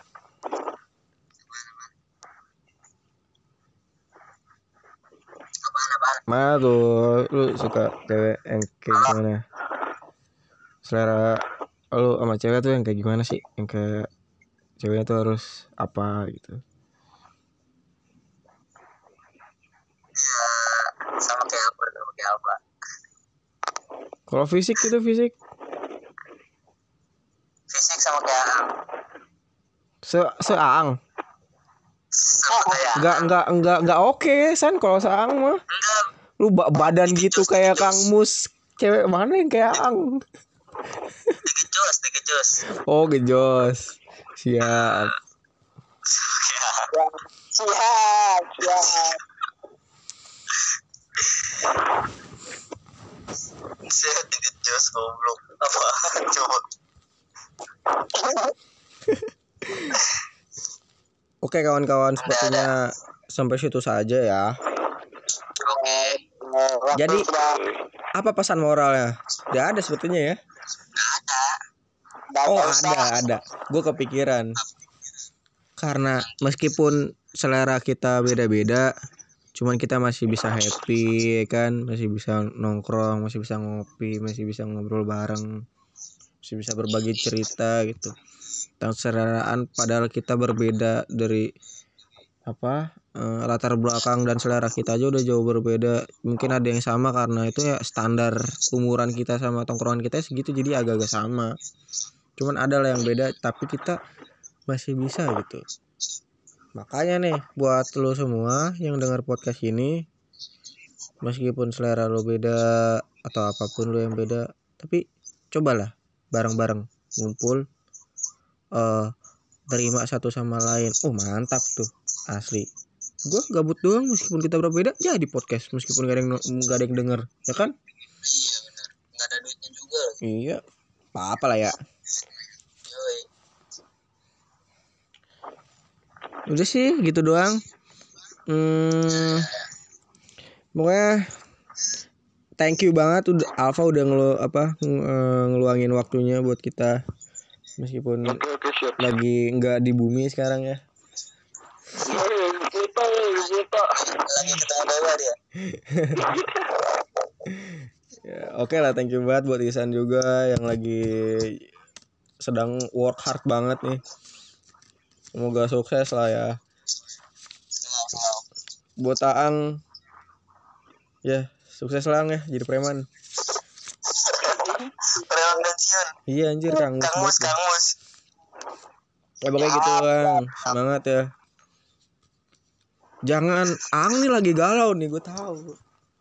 Mana tuh lu suka cewek yang kayak gimana? Selera lu sama cewek tuh yang kayak gimana sih? Yang kayak ceweknya tuh harus apa gitu? Ya sama kayak apa sama kayak apa. Kalau fisik itu fisik Fisik sama kayak se seang. sama kayak Enggak enggak enggak enggak oke, San, kalau seang mah. enggak. Lu ba- badan gitu kayak Kang Mus. Cewek mana yang kayak ang? Digejos, digejos. Oh, gejos. Siap. Siap, siap, siap. Siap digejos goblok. Apa? Coba. Oke kawan-kawan, sepertinya sampai situ saja ya. Oke. Eh, waktu Jadi- sudah Apa pesan moralnya? Tidak ada sebetulnya ya. nggak Oh usah. ada ada. Gue kepikiran. Karena meskipun selera kita beda-beda, cuman kita masih bisa happy, ya kan? Masih bisa nongkrong, masih bisa ngopi, masih bisa ngobrol bareng, masih bisa berbagi cerita gitu. Tentang seleraan padahal kita berbeda dari apa eh, latar belakang dan selera kita aja udah jauh berbeda. Mungkin ada yang sama karena itu ya standar umuran kita sama tongkrongan kita segitu, jadi agak-agak sama. Cuman ada lah yang beda tapi kita masih bisa gitu. Makanya nih buat lo semua yang dengar podcast ini, meskipun selera lo beda atau apapun lo yang beda, tapi cobalah bareng-bareng ngumpul, eh terima satu sama lain. Oh mantap tuh asli. Gue gabut doang meskipun kita berbeda jadi podcast meskipun gak ada yang gak ada yang denger, ya kan? Iya benar. Nggak ada duitnya juga lagi. Iya, apa-apa lah ya. Yoi. Udah sih gitu doang. Hmm, pokoknya thank you banget udah Alfa udah ngelu apa ng- eh, ngeluangin waktunya buat kita meskipun Oke oke siap. lagi nggak di bumi sekarang ya. Kita kita. Lagi ketemu dewa dia. Ya, oke lah, thank you banget buat Isan juga yang lagi sedang work hard banget nih. Semoga sukses lah ya. Buat Aang, ya sukses lah Ang ya jadi preman. Preman pensiun. Iya anjir kangus Kang Mus, banget. Kang Mus. Ya pokoknya gitu Ang, semangat ya. Jangan, Ang nih lagi galau nih, gue tahu.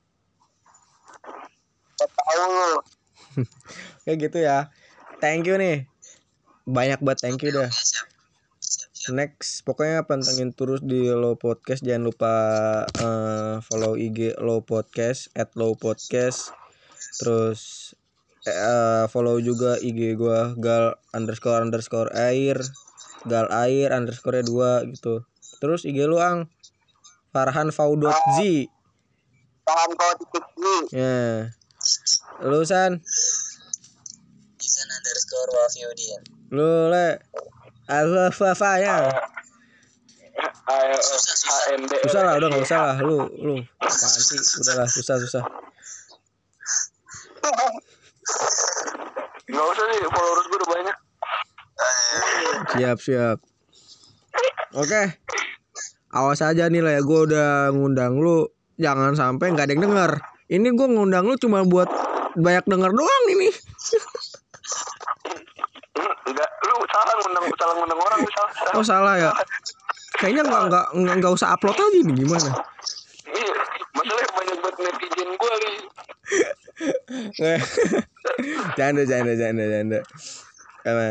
Saya tahu lu. Kayak gitu ya. Thank you nih. Banyak banget thank you dah. Siap. Next, pokoknya pantengin terus di Low Podcast. Jangan lupa eh, follow I G Low Podcast at Low Podcast. Terus eh, follow juga I G gua gal underscore underscore air gal air underscore dua gitu. Terus I G lu Ang Farhan Faudot Z. Tangan kau titik ini. Ya. Lu San, Isan underscore Wafiuddin. lu le Alfa ya. Ayo H N D. Susah lah, udah nggak usah lah. Lu, lu, apaan sih? Udahlah, susah, susah. Gak usah sih, followers gue udah banyak. Siap, siap. Oke. Awas aja nih lah ya, gue udah ngundang lu. Jangan sampai nggak ada yang denger. Ini gue ngundang lu cuma buat banyak denger doang ini. Enggak, lu salah ngundang, salah ngundang orang, lu salah. salah. Oh salah ya. Kayaknya nggak nggak nggak nggak usah upload aja nih gimana? Iya, masalahnya banyak banget netizen gue nih. Canda, canda, canda, canda. Karena,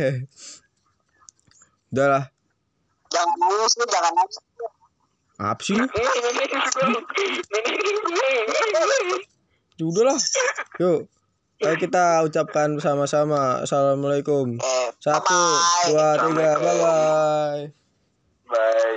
udah lah. Jangan nangis lu, jangan nangis. Apa sih lu? Ya udah lah. Yuk. Ayo kita ucapkan bersama-sama. Assalamualaikum. Eh, Satu, bye-bye. dua, tiga, bye bye. Bye.